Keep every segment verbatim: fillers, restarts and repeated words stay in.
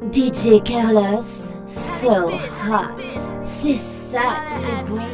D J Carlos, so hot. C'est ça, c'est bon.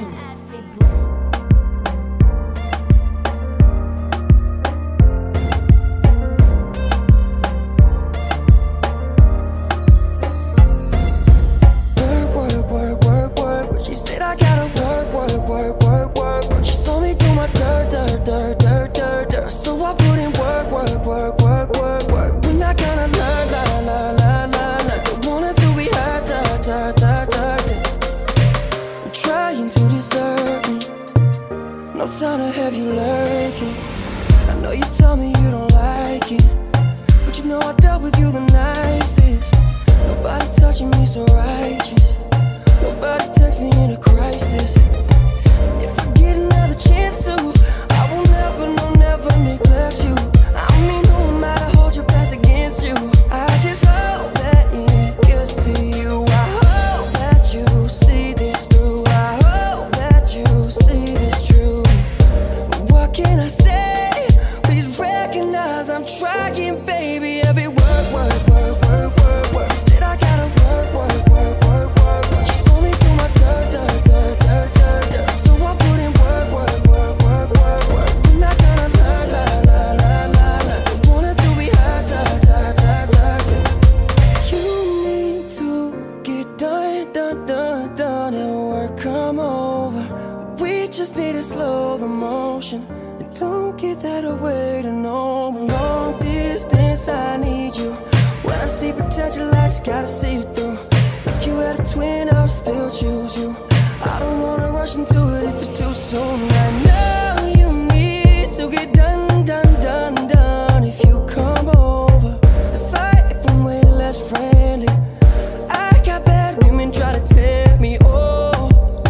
Time to have you lurking. I know you tell me you don't like it, but you know I dealt with you the nicest. Nobody touching me so righteous. Nobody text me in a crisis. And if I get another chance to, I will never, no, never neglect you. I mean, no matter hold your past against you. I just hope that it gets to you. I hope that you see this through. I hope that you see this true. What can I say? Please recognize I'm trying, baby. Every word, word, word, word, word, word. Said I gotta work, work, work, work, work, work. She saw me through my dirt, dirt, dirt, dirt, dirt, dirt. So I put in work, work, work, work, work, work. We're not gonna learn, la, la, la, la, la. Don't want it to be hurt, hurt, hurt, hurt, hurt. You need to get done, done, done, done, and work come over. We just need to slow the motion. Don't get that away to no long distance. I need you. When I see potential, I just gotta see it through. If you had a twin, I would still choose you. I don't wanna rush into it if it's too soon. Right now, you need to get done, done, done, done. If you come over, aside from way less friendly, I got bad women try to tempt me. Oh,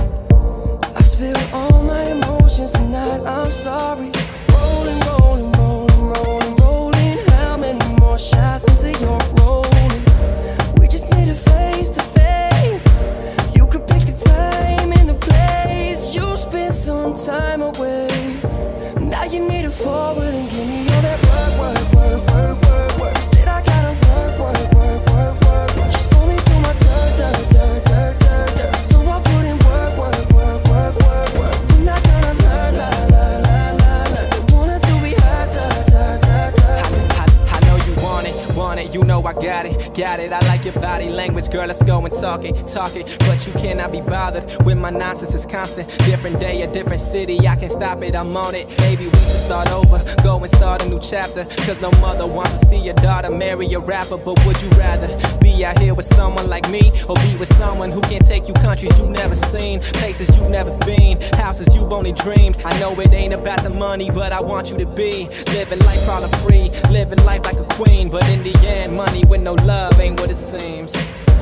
I spill all my emotions tonight. I'm sorry. Rolling, rolling, rolling, rolling, rolling. How many more shots until you're rolling? We just need a face to face. You could pick the time and the place. You spend some time away. Now you need to forward and give me all that work, work, work, work, work, work. Said I gotta work, work, work, work, work, work. She saw me through my dirt, dirt, dirt, dirt, dirt, dirt. So I put in work, work, work, work, work, work. We're not gonna learn, la, la, la, la, la. Don't want it to be hurt, hurt, hurt, hurt, hurt. I, I, I know you want it, want it, you know I got it, got it. I like your body language, girl, let's go and talk it, talk it. But you cannot be bothered with my nonsense, it's constant. Different day, a different city, I can't stop it, I'm on it. Maybe we should start over, go and start a new chapter. Cause no mother wants to see your daughter marry a rapper. But would you rather be out here with someone like me, or be with someone who can take you countries you've never seen, places you've never been, houses you've only dreamed? I know it ain't about the money, but I want you to be living life all free, living life like a queen. But in the end, money with no love ain't what it seems.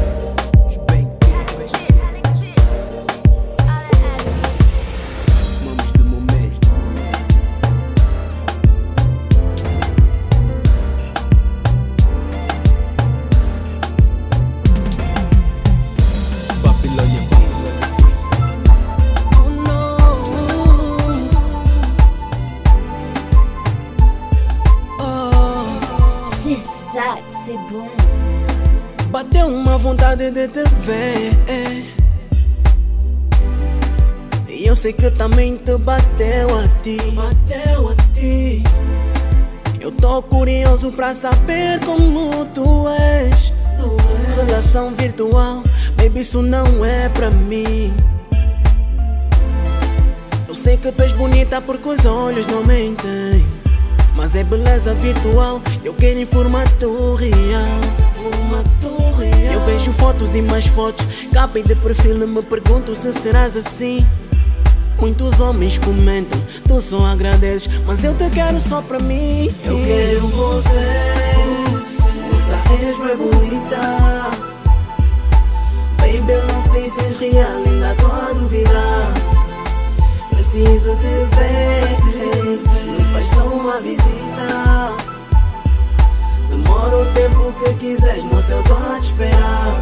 C'est bon. Bateu uma vontade de te ver, e eu sei que também te bateu a ti. Bateu a ti. Eu tô curioso pra saber como tu és. Tu és. Relação virtual, baby, isso não é pra mim. Eu sei que tu és bonita porque os olhos não mentem, mas é beleza virtual, eu quero em formato real. Formato real. Eu vejo fotos e mais fotos, capa e de perfil, me pergunto se serás assim. Muitos homens comentam, tu só agradeces, mas eu te quero só pra mim. Eu quero você, você és bem bonita. Baby, eu não sei se és real, ainda tô a duvidar. Preciso te ver, me faz só uma visita. Demora o tempo que quiseres, moça, eu tô a te esperar.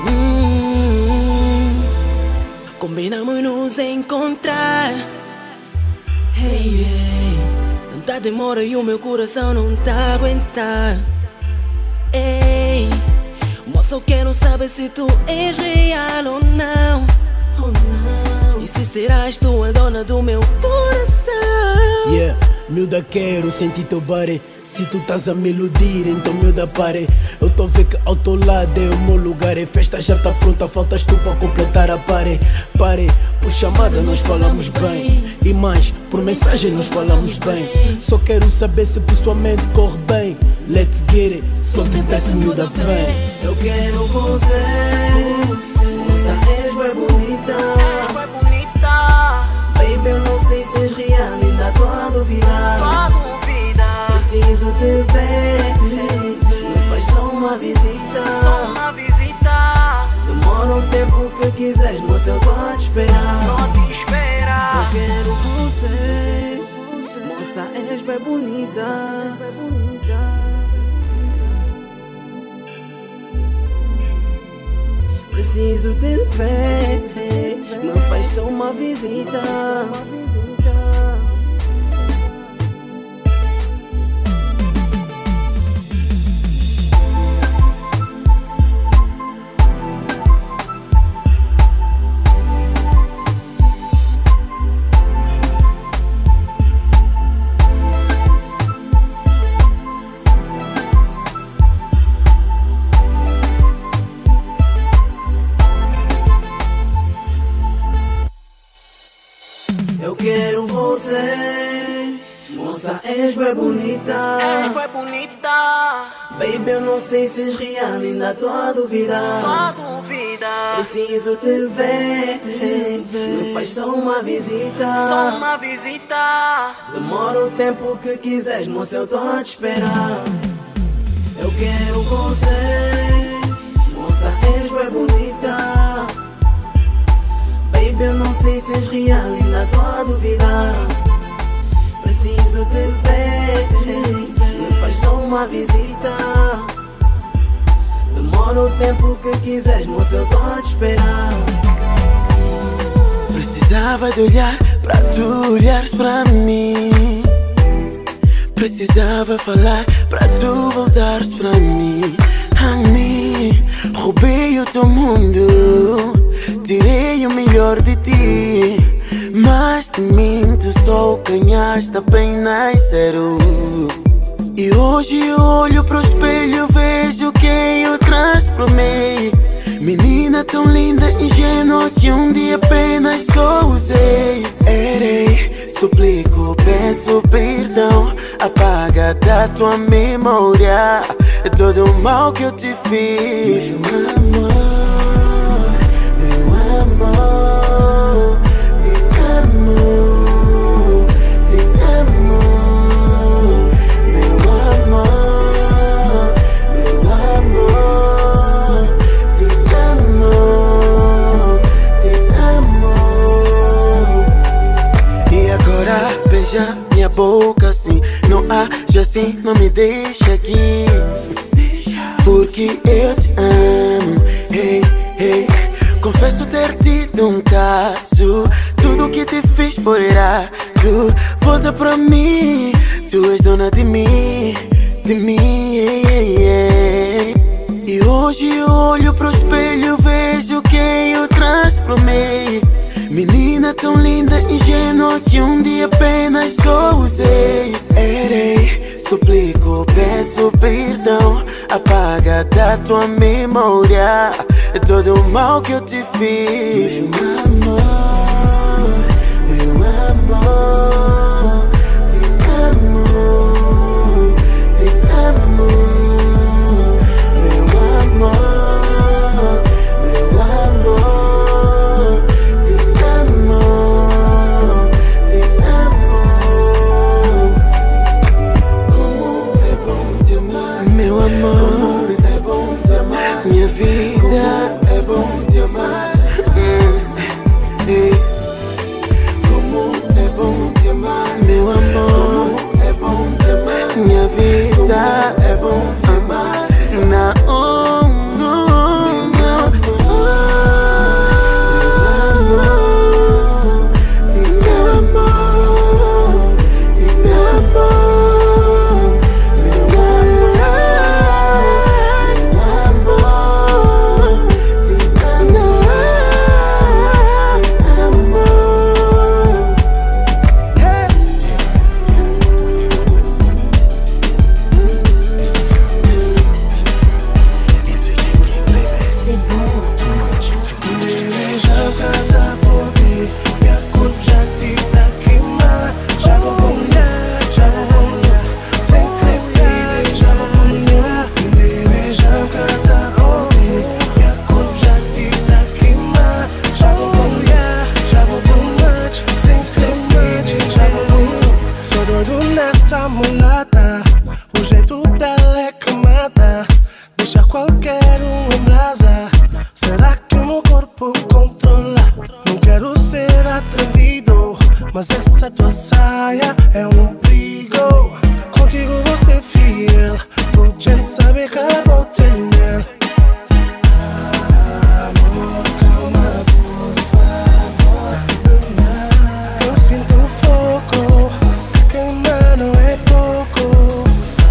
hum, Combinamos nos encontrar. Hey, hey. Tanta demora e o meu coração não tá a aguentar. Ei, moça, Só quero saber se tu és real ou não, ou não. E se serás tu a dona do meu coração. Yeah, miúda, quero sentir teu body. Se tu estás a me iludir, então miúda, pare. Eu tô vendo que ao teu lado é o meu lugar. A festa já tá pronta, faltas tu para completar a pare. Pare, por chamada nós falamos bem. E mais, por mensagem nós falamos bem. Só quero saber se pessoalmente corre bem. Let's get it, só te peço miúda, vem. Eu quero você, moça, és bem bonita. Baby, eu não sei se és real, ainda tô a duvidar. Preciso te ver, me faz só uma visita. Só uma visita. Demora um tempo que quiseres, moça, eu tô a te esperar. Tô a te esperar. Eu quero você, moça, és bem bonita. Preciso te ver, me faz só uma visita. Eu quero você, moça, és bem bonita. És bem bonita. Baby, eu não sei se és real, ainda tô a duvidar. Tô a duvidar. Preciso te ver, me faz só uma visita. Só uma visita. Demora o tempo que quiseres, moça, eu tô a te esperar. Eu quero você, moça, és bem bonita. Baby, eu não sei se és real, ainda tô a duvidar. Preciso te ver, me faz só uma visita. Demora o tempo que quiseres, moça, eu tô a te esperar. Precisava de olhar pra tu olhares pra mim. Precisava falar pra tu voltares pra mim. A mim, roubei o teu mundo, tirei o melhor de ti, mas de mim tu só ganhaste apenas zero. E hoje eu olho pro espelho, vejo quem eu transformei. Menina tão linda, ingênua, que um dia apenas só usei. Errei, suplico, peço perdão. Apaga da tua memória todo o mal que eu te fiz. Meu amor, meu amor, te amo, te amo. Meu amor, meu amor, te amo, te amo. E agora beija minha boca assim, não haja assim, não me deixa aqui, porque eu te amo, hey, hey. Confesso ter tido um caso, tudo que te fiz foi errado. Volta pra mim, tu és dona de mim, de mim, hey, hey. E hoje eu olho pro espelho, vejo quem eu transformei. Menina tão linda, ingênua, que um dia apenas só usei. Errei, suplico, peço perdão. Apaga da tua memória todo o mal que eu te fiz. Meu amor, meu amor, te amo, te amo. Meu amor, meu amor, te amo, te amo. Como é bom te amar, meu amor. Como é bom te amar, minha vida. Como é bom te amar, hum, hey. Como é bom te amar. O jeito dela é que mata, deixa qualquer um em brasa. Será que o meu corpo controla? Não quero ser atrevido, mas essa tua saia é um perigo. Contigo vou ser fiel, tu gente sabe que ela bota nele. Amor, calma por favor. Eu sinto fogo, queimar não é pouco.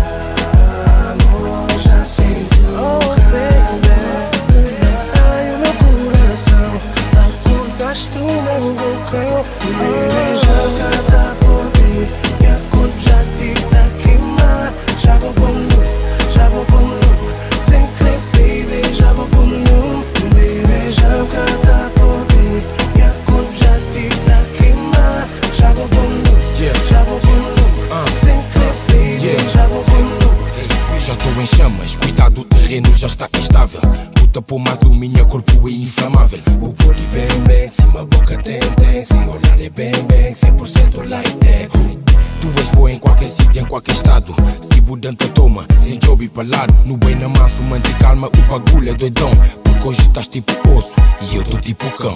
Amor, já sinto, oh baby. Ai, o meu coração, acordaste o meu vulcão. Me joga da poder, minha corpo já te tá queimar. Já vou por nu, já vou por nu, sem crer, baby, já vou por nu. Baby, joga da poder, minha corpo já te tá queimar. Já vou por nu, já vou por nu, sem crer, baby, já vou por nu. Já estou em chamas, cuidado, o terreno já está instável. Puta por mais do minha corpo é inflamável. O body bang bang, sim, uma boca tem tem. Sem olhar é bang bang, cem por cento like that. Tu és boa em qualquer sítio, em qualquer estado. Se budanta toma, sem job e palado. No bem na massa, manter calma, o bagulho é doidão. Porque hoje estás tipo osso e eu tô tipo cão.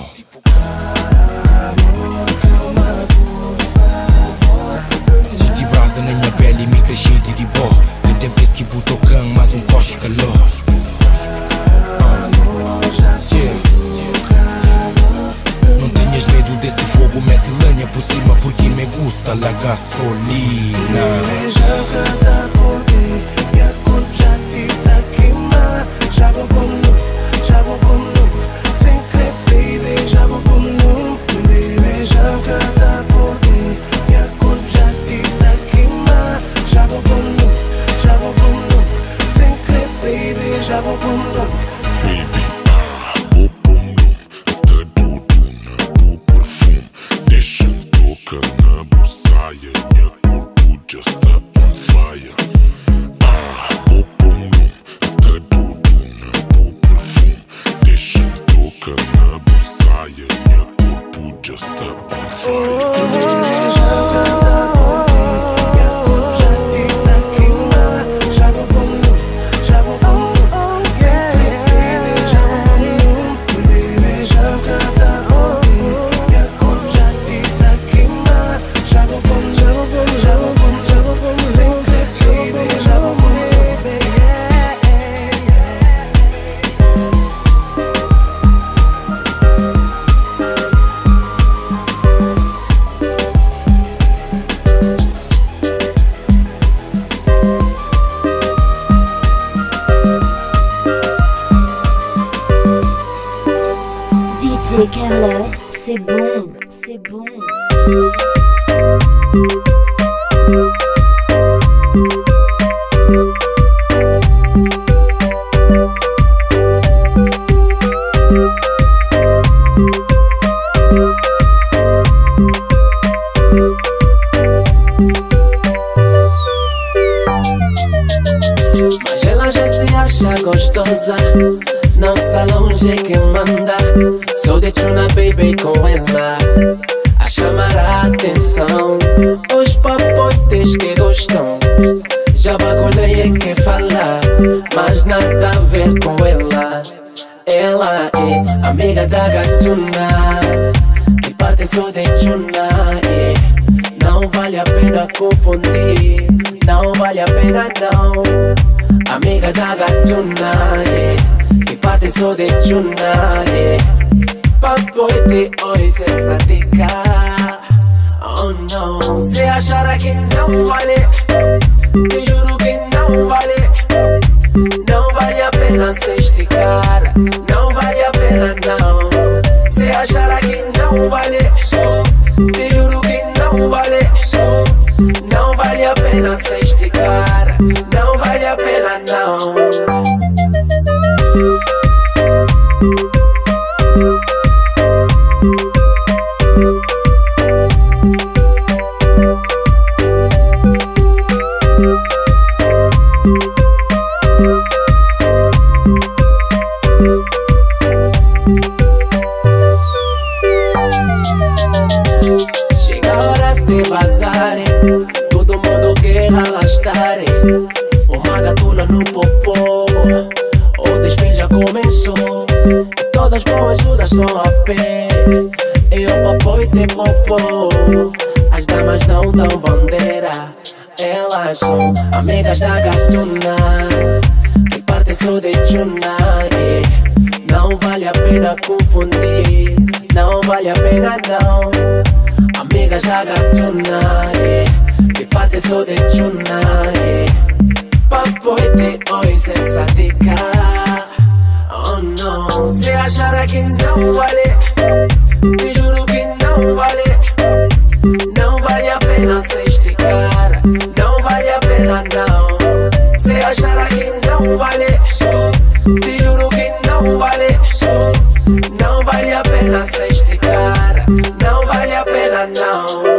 Senti brasa na minha pele e me crescente de bó. Que tem vez que botou cão, mais um coche calor. Não tenhas medo desse fogo, mete lenha por cima porque me gusta la gasolina. Me joga da poder, minha corpo já te tá queimar. Já vou por nu, já vou por nu, sem crer, baby, já vou por nu. Baby, joga da poder, minha corpo já te tá queimar. Já vou por nu, já vou por nu, sem crer, baby, já vou por nu. Baby, ah, vou por nu, está tudo na tua perfume. Deixa-me tocar na buçaia, minha corpo já está on fire. Ah, vou por nu, está tudo na tua perfume. Deixa-me tocar na buçaia, minha corpo já está on fire. D J Carlos, c'est bon, c'est bon. Mas ela já se acha gostosa, não salão é quem manda. Sou de Tuna Baby com ela a chamar a atenção. Os papotes que gostam, já bagulhei é quem fala, mas nada a ver com ela. Ela é amiga da gatuna, que parte só de Tuna, é. Não vale a pena confundir, não vale a pena não. Amiga da gatuna, é. Que parte só de Tuna, é. Papoite hoje cê satica. Oh não, cê achará que não vale, te juro que não vale. Não vale a pena cê esticar, não vale a pena não. Cê achará que não vale, te juro que não vale. Não vale a pena cê esticar, não vale a pena não. uma gatuna no popô. O desfile já começou e todas boas ajudas estão a pé. Eu papo e te popô. As damas não dão bandeira, elas são amigas da gatuna. E parte só de chuna, yeah. Não vale a pena confundir, não vale a pena não. Amigas da gatuna, yeah. Que parte só de chuna, yeah. Papo e te oi se satica. Oh não, se achar que não vale, te juro que não vale. Não vale a pena se esticar, não vale a pena não. Se achar que não vale, te juro que não vale. Não vale a pena se esticar, não vale a pena não.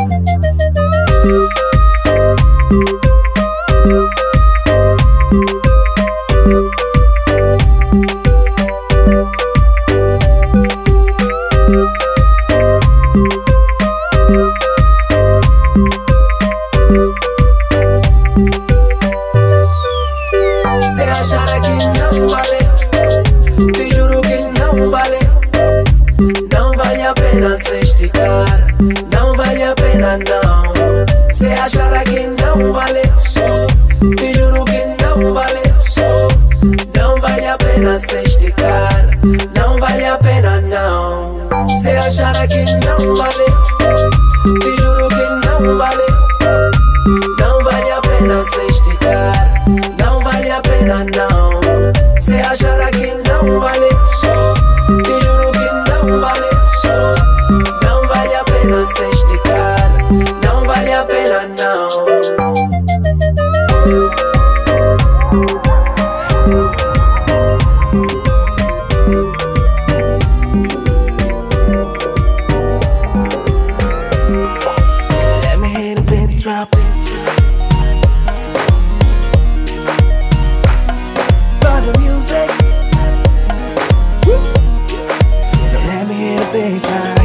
Não vale a pena não. Se achar que não vale, te juro que não vale. Não vale a pena se esticar, não vale a pena não. Se achar que não vale, te juro que não vale. Não vale a pena se esticar, não vale a pena não. Se achar que não vale, te juro que não vale. Não vale a pena se esticar, não vale a pena não. Let me hit a bit, drop it. By the music. Let me hit a bassline.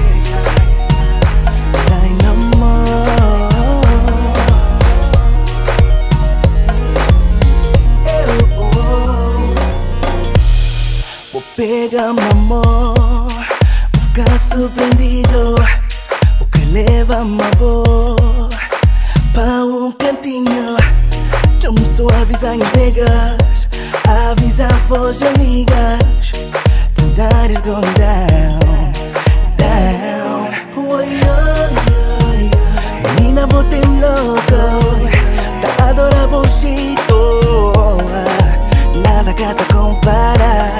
Pega meu amor, vou ficar surpreendido. O que leva amor para um cantinho. Chamo só avisar as negas, avisa pros amigas. Tonight is going down, down. Oh, yeah, yeah, yeah. Menina, botei louco, tá adora bullshit. Oh, nada que te compara.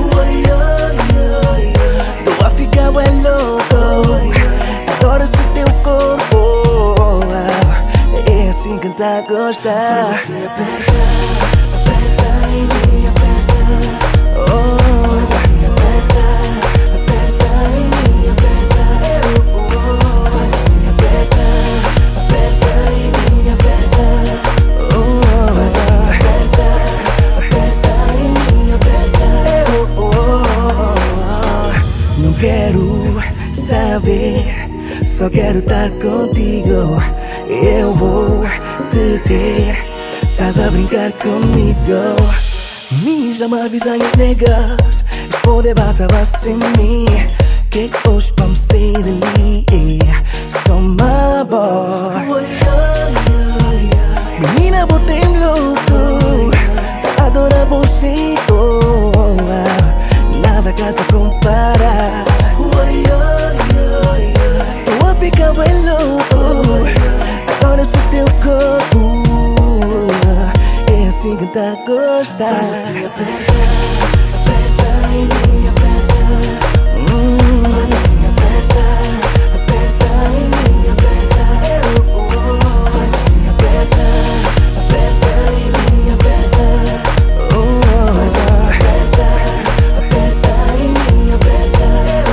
Tô a ficar bem louco, adoro esse teu corpo. É assim que tá a gostar. Faz assim, aperta, aperta em mim, aperta. Oh, faz assim, aperta, aperta em mim, aperta. Faz assim, aperta, aperta em mim, aperta. Oh, faz assim, aperta, aperta em mim, aperta. Não quero saber, só quero estar contigo. Eu vou te ter, estás a brincar comigo. Me chama avisar as negas, eles podem bater sem mim. Que hoje vamos sair dali, só uma boa. Menina, botei-me louco, tá adora bullshit. Nada que te compara. Tô a ficar bem louco, agora sou teu corpo. É assim que tá a gostar. Faz assim, aperta, aperta em mim, aperta. hum. Faz assim, aperta, aperta em mim, aperta. Faz assim, aperta, aperta em mim, aperta. Oh, faz assim, aperta, aperta em mim, aperta.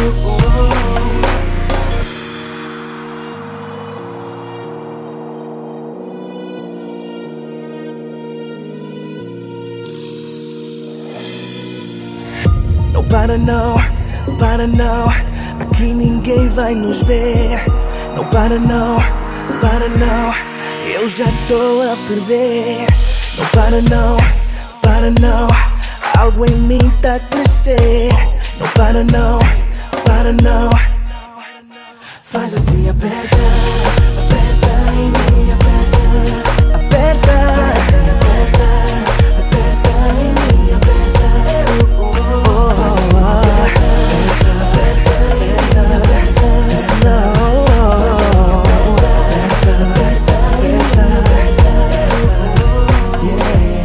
Não para não, para não, aqui ninguém vai nos ver. Não para não, para não, eu já tô a ferver. Não para não, para não. Algo em mim tá a crescer. Não para não, para não. Faz assim, aperta, aperta em mim, aperta, aperta. Faz assim, aperta, aperta em mim, aperta. Oh, oh, oh. Faz assim, aperta, aperta, aperta, aperta, aperta. Não. Faz assim, aperta, aperta, aperta, aperta. Yeah.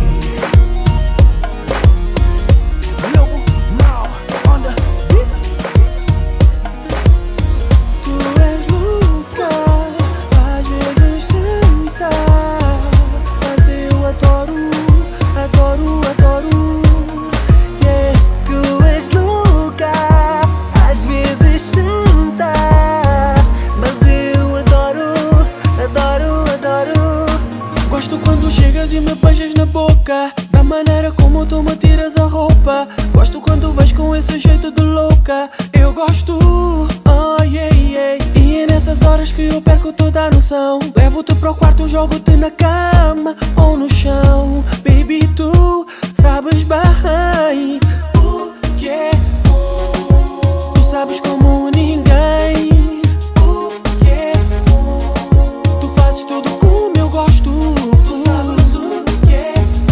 Lobo mal on the beat. Tu és louca, às vezes senta, mas eu adoro, adoro, adoro. Yeah. Tu és louca, às vezes senta, mas eu adoro, adoro, adoro. Gosto quando chegas e me beijas na boca, da maneira como tu me tiras a roupa. Gosto quando vais com esse jeito de louca. Eu gosto, oh yeah, yeah. E é nessas horas que eu perco toda a noção. Levo-te para o quarto, jogo-te na cama ou no chão. Baby, tu sabes bem, uh, yeah. Tu sabes como ninguém, uh, yeah. Tu fazes tudo como eu gosto. Tu sabes o que é.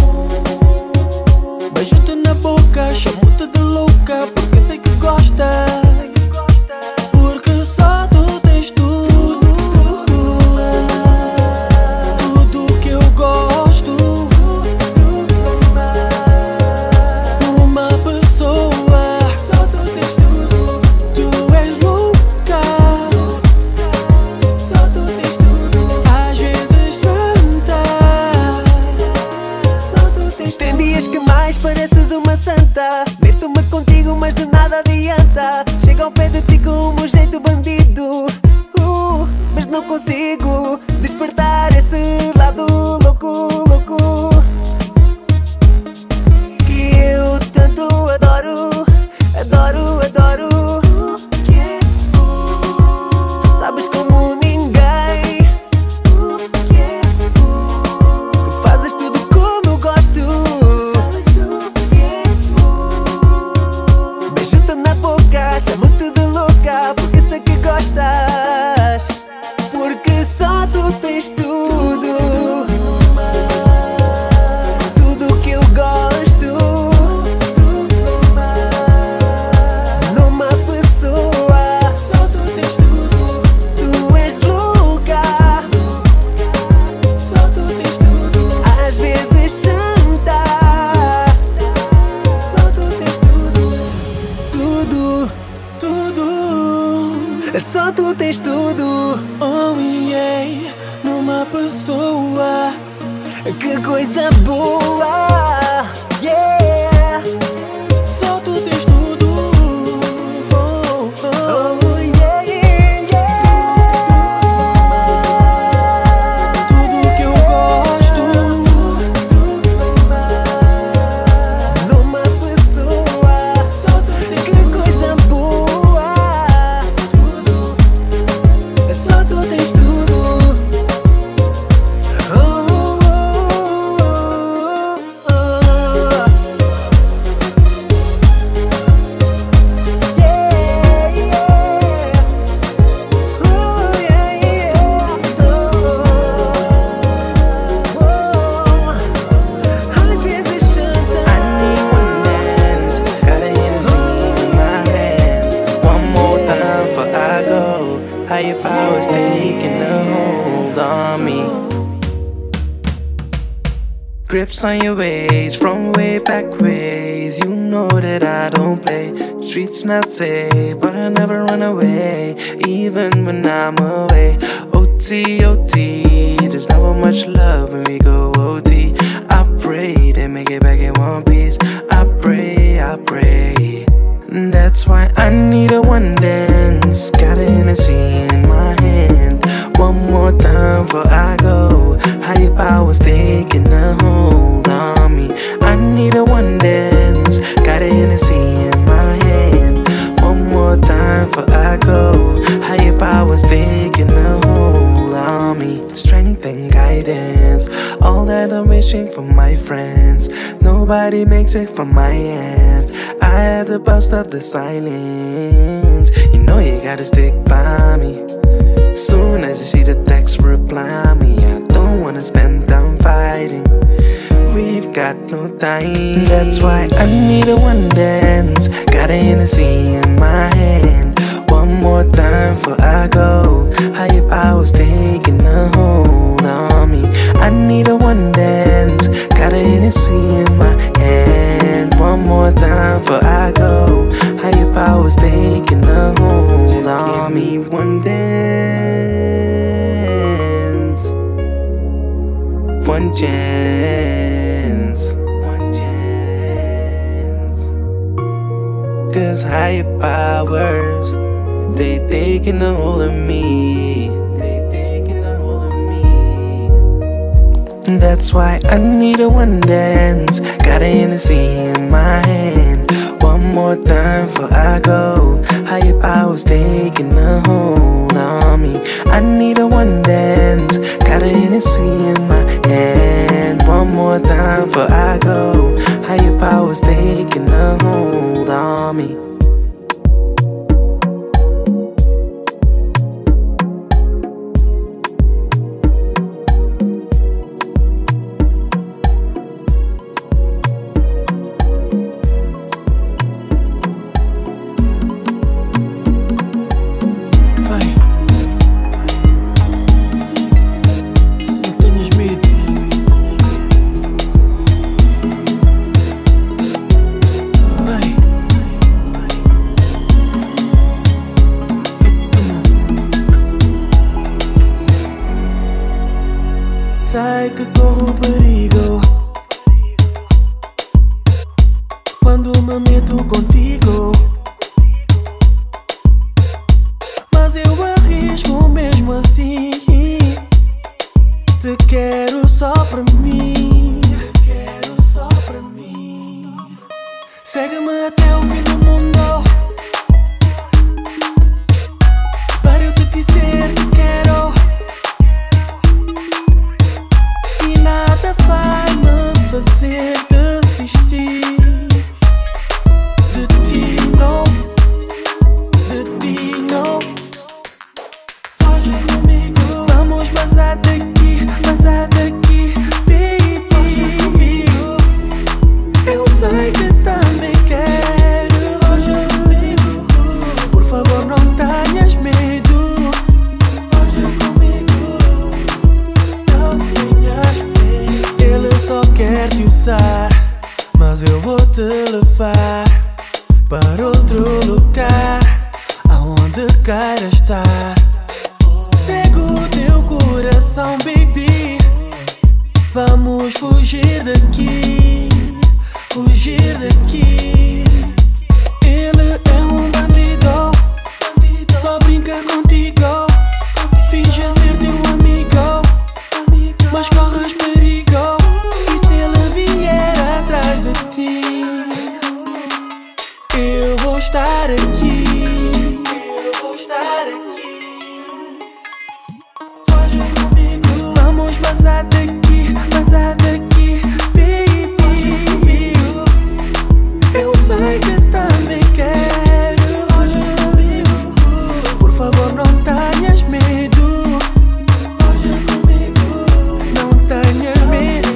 Beijo-te na boca, chamo-te de louca, porque sei que gostas. Porque só tu tens tudo, tudo que eu gosto numa pessoa. Só tu tens tudo. Tu és louca, só tu tens tudo. Às vezes santa, só tu tens tudo. Tem dias que mais pareces uma santa. Meto-me contigo, mas de nada adianta. Chego ao pé de ti com um jeito bandido, uh, mas não consigo despertar esse lado louco, louco, que eu tanto adoro, adoro, adoro. Tu sabes como ninguém, tu fazes tudo como eu gosto. Beijo-te na boca, chamo-te de louca, porque sei que gostas. Porque só tu tens tudo, tudo que eu gosto numa pessoa. Só tu tens tudo. Tu és louca, só tu tens tudo. Às vezes santa, só tu tens tudo. Tudo, tudo, só tu tens tudo. Oh yeah, numa pessoa. Que coisa boa, yeah. Só tu tens tudo. Oh, oh, oh yeah, yeah, yeah. Tudo que eu gosto numa pessoa. Só tu tens que tudo. Coisa boa. Tudo. Só tu tens tudo. Oh, oh, oh, oh, oh. Yeah, yeah. Oh, yeah, yeah. Oh, oh. Às vezes chanta. I need one dance, got a Hennessy in my hand. One more time before I go. Higher powers taking a hold on me. Grips on your ways from way back ways. You know that I don't play. Streets not safe, but I never run away, even when I'm away. O T, O T, there's never much love when we go O T. I pray they make it back in one piece. I pray, I pray. That's why I need a one dance. Got a Hennessy in my hand. One more time before I go. Higher powers taking a hold on me. I need a one dance. Got a Hennessy in my hand. One more time before I go. Higher powers taking a hold on on me. Strength and guidance, all that I'm wishing for my friends. Nobody makes it from my end. I had to bust up the silence. You know you gotta stick by me. Soon as you see the text, reply me. I don't wanna spend time fighting. We've got no time. That's why I need a one dance. Got an Hennessy in my hand. One more time before I go. Higher powers taking a hold on me. I need a one dance. Got a Hennessy in my hand. One more time before I go. Higher powers taking a hold on me. One dance, one chance, one chance. Cause higher powers, they taking a hold of me. They taking a hold of me. That's why I need a one dance. Got a Hennessy in my hand. One more time before I go. Higher powers taking a hold on me. I need a one dance. Got a Hennessy in my hand. One more time before I go. Higher powers taking a hold on me. Sei que corro perigo quando me meto contigo, mas eu arrisco mesmo assim. Te quero só pra mim, te quero só pra mim. Segue-me até o fim do mundo para eu te dizer que quero. Nada vai me fazer desistir de ti, não, de ti, não. Foge comigo, vamos vazar daqui, vazar daqui, baby. Foge comigo, eu sei que também quero. Foge comigo, por favor não tenhas medo. Foge comigo, não tenhas medo. Ele só quer te usar, mas eu vou te levar para outro lugar, aonde queira estar. Segue o teu coração, baby. Vamos fugir daqui, fugir daqui. Ele é um bandido, só brinca contigo. Finge ser teu amigo, mas corres perigo. E se ele vier atrás de ti, eu vou estar aqui, eu vou estar aqui. Foge comigo, vamos vazar daqui, vazar daqui, baby. Foge comigo, eu sei que também quero. Foge comigo, por favor não tenhas medo. Foge comigo, não tenhas medo.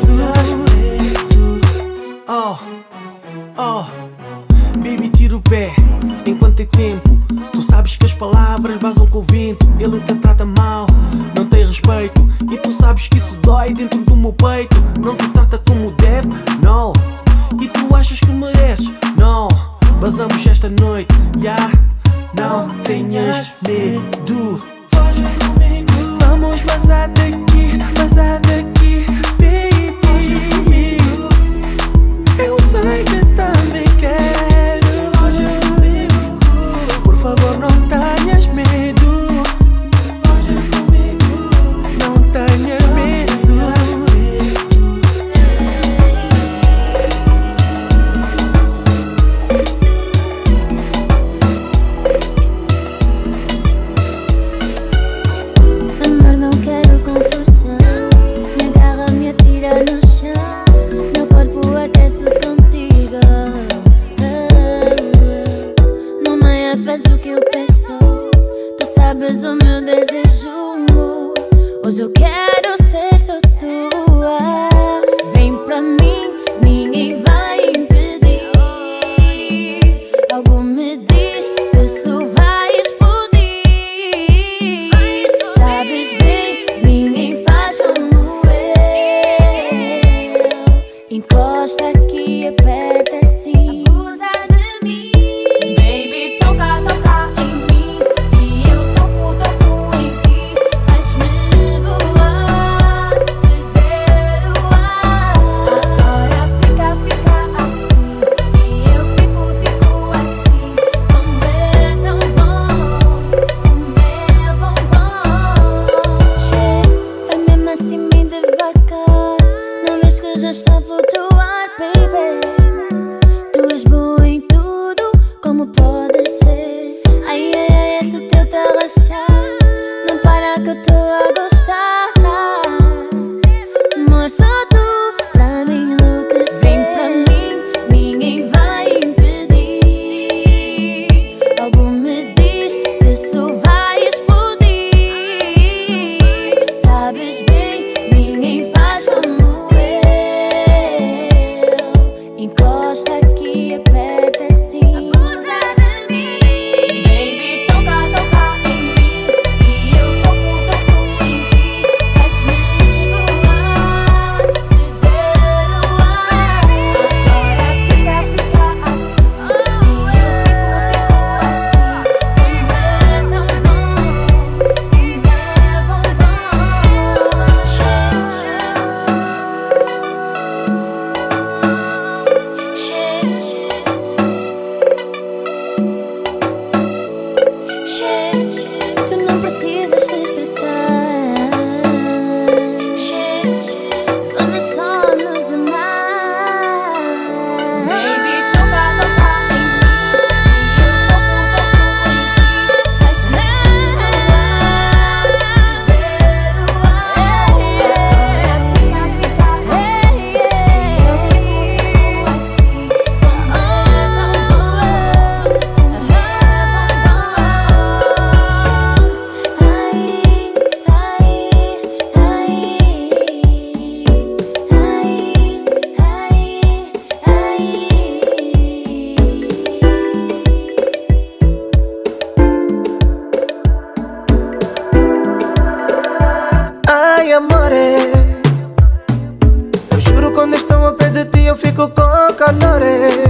Oh, oh, baby, tira o pé enquanto é tempo. Tu sabes que as palavras vazam com o vento. Ele te trata mal, não tem respeito, e tu sabes que isso dói dentro do meu peito. Não te trata como deve, não. E tu achas que mereces, não. Vazamos esta noite, já, yeah. Não tenhas medo. Foge comigo, vamos vazar daqui, vazar daqui, baby. Foge comigo, eu sei que também quero. Foge comigo, por favor não tenhas medo. Foge comigo, não tenhas medo. juro quando estou ao pé de ti eu fico com calor.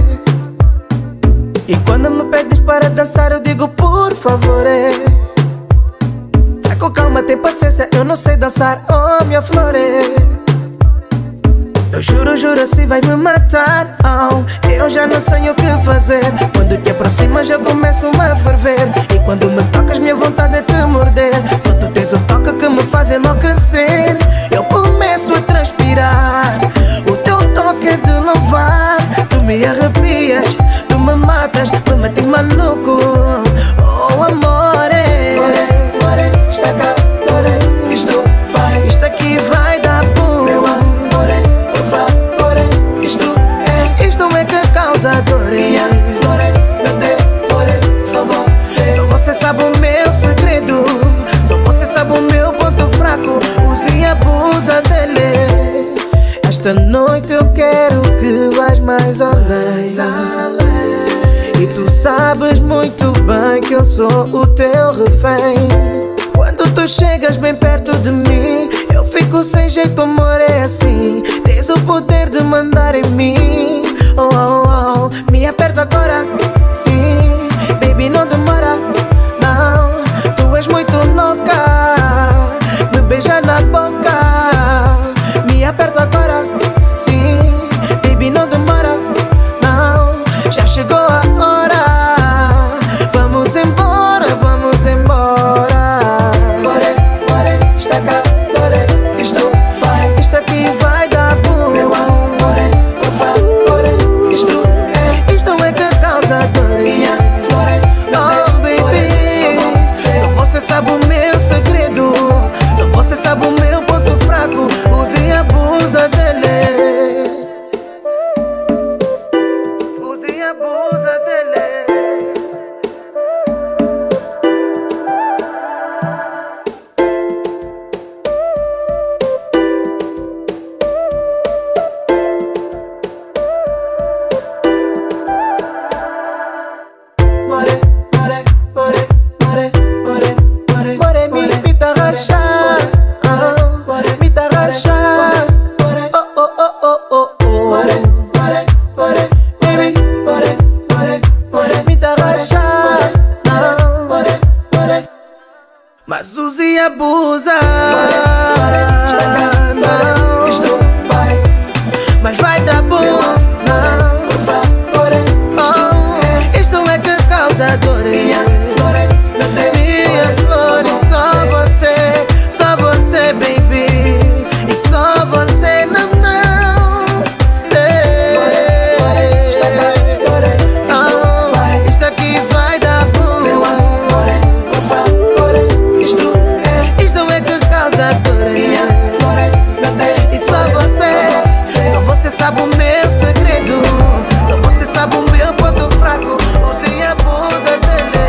E quando me pedes para dançar eu digo por favor. Vai com calma, tem paciência, eu não sei dançar, oh minha flor. Eu juro, juro, se vai me matar, oh, eu já não sei o que fazer. Quando te aproximas eu começo a ferver. E quando me tocas minha vontade é te morder. Só tu tens o toque que me faz enlouquecer. Eu começo a transpirar, o teu toque é de louvar. Tu me arrepias, tu me matas, me metes maluco, oh amore. More, more, está cá, more, isto vai, isto aqui vai dar boom. Meu amore, por favor, isto é, isto é que causa dor. Minha flore, meu devore, só você, só você sabe o meu segredo. Só você sabe o meu ponto fraco, use e abusa dele. Esta noite eu quero que vais mais além. E tu sabes muito bem que eu sou o teu refém. Quando tu chegas bem perto de mim eu fico sem jeito, amor, é assim. Tens o poder de mandar em mim, oh, oh, oh. Me aperta agora, sim, baby, não demora, não. Tu és muito louca, me beija na boca. Me aperta agora, sim, baby, não demora, não. Já chegou a hora, vamos embora, vamos embora. More, more, está cá, more, isto vai, isto aqui vai dar boom. Meu amor, por favor, isto é, isto é que causa dor. Minha flore, oh baby, só você sabe o meu segredo. Só você sabe o meu ponto fraco, use e abusa dele. Use e abusa dele. More, more, more, more, more, more, more, me, me tá rachar, ah, me tá rachar, oh, oh, oh, oh, oh, oh. More, more, more, baby, more, more, more, me tá rachar, ah, more, more. Mas use e abusa, não, isto vai, mas vai dar bom, não, por favor, oh, isto é que causa dor. Minha flore, minha flor, só você, só você, baby, e só você, não, não. Ei, oh, isto aqui vai dar boom. Meu amor, por favor, isto é, isto é que causa dor. Minha flore, e só você, só você sabe o meu segredo. Só você sabe o meu ponto fraco, use e abusa dele.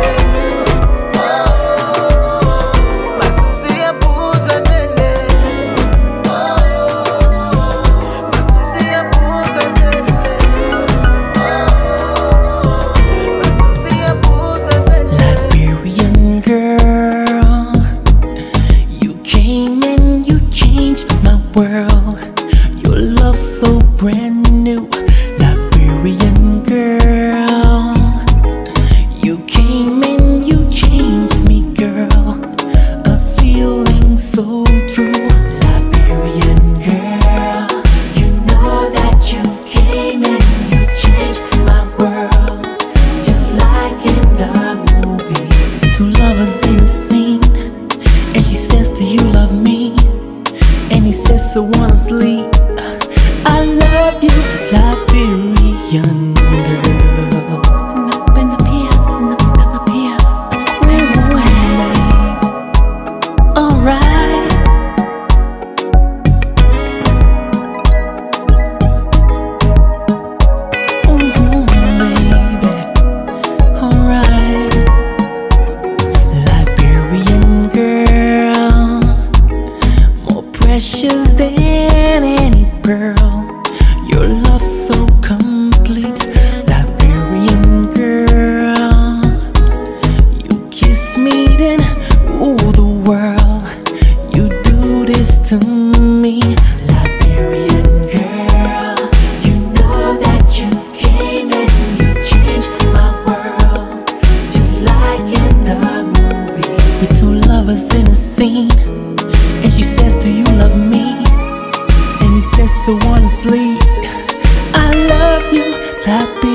Oh, mas use e abusa dele. Oh, mas use e abusa dele. Oh, mas use e abusa dele. Liberian girl, you came and you changed my world. Your love so brand new. Liberian girl, you came and you changed me, girl. A feeling so true. Liberian girl, you know that you came and you changed my world, just like in the movie. Two lovers in a scene, and he says, do you love me? And he says, so wanna sleep. I love you, Liberian girl. Nakupenda pia, nakutaka pia, penda wewe. Alright. Mhm, baby. Alright. Liberian girl, more precious than any pearl. Your love so complete. sweet. I love you, la